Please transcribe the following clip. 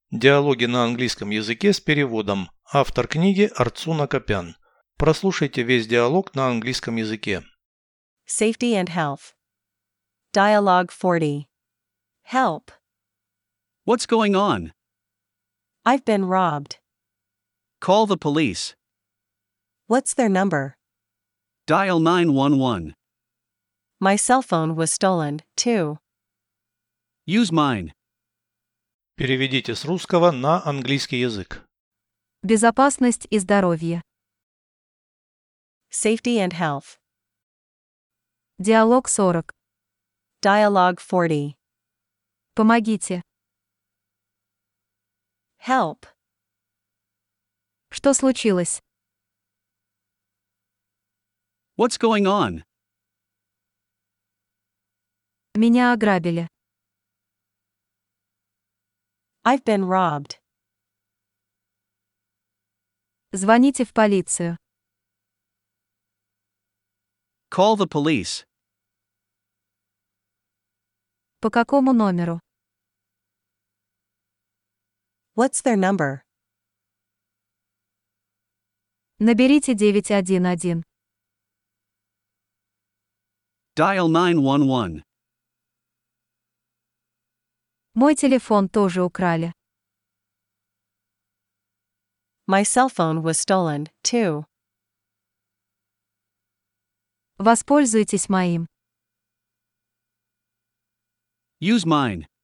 Диалоги на английском языке с переводом. Автор книги Арцуна Копян. Прослушайте весь диалог на английском языке. Safety and Health. Dialogue 40. Help. What's going on? I've been robbed. Call the police. What's their number? Dial 911. My cell phone was stolen, too. Use mine. Переведите с русского на английский язык. Безопасность и здоровье. Safety and Health. Диалог 40. Dialogue 40. Помогите. Help. Что случилось? What's going on? Меня ограбили. I've been robbed. Звоните в полицию. Call the police. По какому номеру? What's their number? Наберите 911. Dial 911. Мой телефон тоже украли. My cell phone was stolen, too. Воспользуйтесь моим. Use mine.